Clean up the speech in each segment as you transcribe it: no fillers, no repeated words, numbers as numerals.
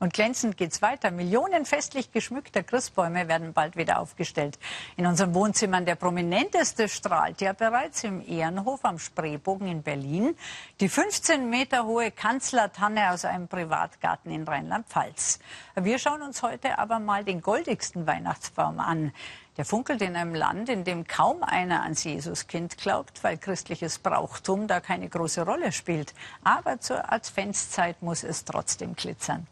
Und glänzend geht's weiter. Millionen festlich geschmückter Christbäume werden bald wieder aufgestellt. In unseren Wohnzimmern der prominenteste strahlt ja bereits im Ehrenhof am Spreebogen in Berlin. Die 15 Meter hohe Kanzlertanne aus einem Privatgarten in Rheinland-Pfalz. Wir schauen uns heute aber mal den goldigsten Weihnachtsbaum an. Der funkelt in einem Land, in dem kaum einer ans Jesuskind glaubt, weil christliches Brauchtum da keine große Rolle spielt. Aber zur Adventszeit muss es trotzdem glitzern.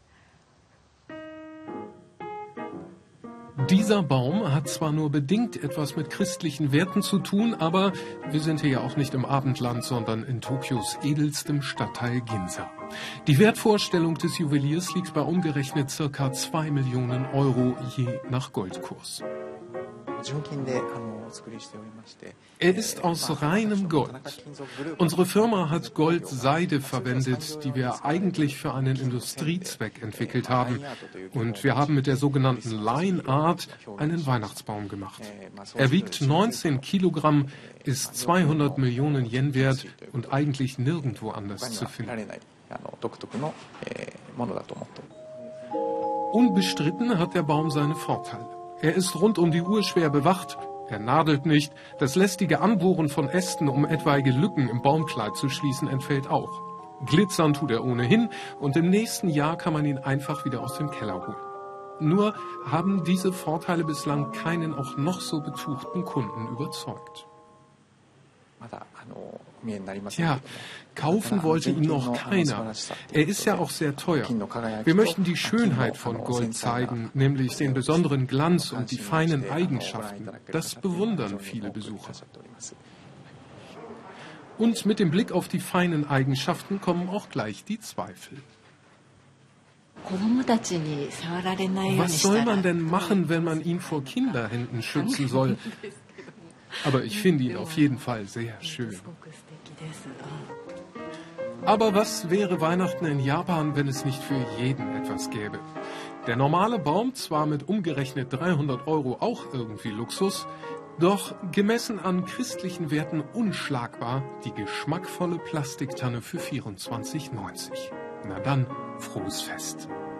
Dieser Baum hat zwar nur bedingt etwas mit christlichen Werten zu tun, aber wir sind hier ja auch nicht im Abendland, sondern in Tokios edelstem Stadtteil Ginza. Die Wertvorstellung des Juweliers liegt bei umgerechnet ca. 2 Millionen Euro je nach Goldkurs. Er ist aus reinem Gold. Unsere Firma hat Goldseide verwendet, die wir eigentlich für einen Industriezweck entwickelt haben. Und wir haben mit der sogenannten Line Art einen Weihnachtsbaum gemacht. Er wiegt 19 Kilogramm, ist 200 Millionen Yen wert und eigentlich nirgendwo anders zu finden. Unbestritten hat der Baum seine Vorteile. Er ist rund um die Uhr schwer bewacht, er nadelt nicht, das lästige Anbohren von Ästen, um etwaige Lücken im Baumkleid zu schließen, entfällt auch. Glitzern tut er ohnehin und im nächsten Jahr kann man ihn einfach wieder aus dem Keller holen. Nur haben diese Vorteile bislang keinen auch noch so betuchten Kunden überzeugt. Tja, kaufen wollte ihn noch keiner. Er ist ja auch sehr teuer. Wir möchten die Schönheit von Gold zeigen, nämlich den besonderen Glanz und die feinen Eigenschaften. Das bewundern viele Besucher. Und mit dem Blick auf die feinen Eigenschaften kommen auch gleich die Zweifel. Was soll man denn machen, wenn man ihn vor Kinderhänden schützen soll? Aber ich finde ihn auf jeden Fall sehr schön. Aber was wäre Weihnachten in Japan, wenn es nicht für jeden etwas gäbe? Der normale Baum, zwar mit umgerechnet 300 Euro auch irgendwie Luxus, doch gemessen an christlichen Werten unschlagbar die geschmackvolle Plastiktanne für 24,90. Na dann, frohes Fest!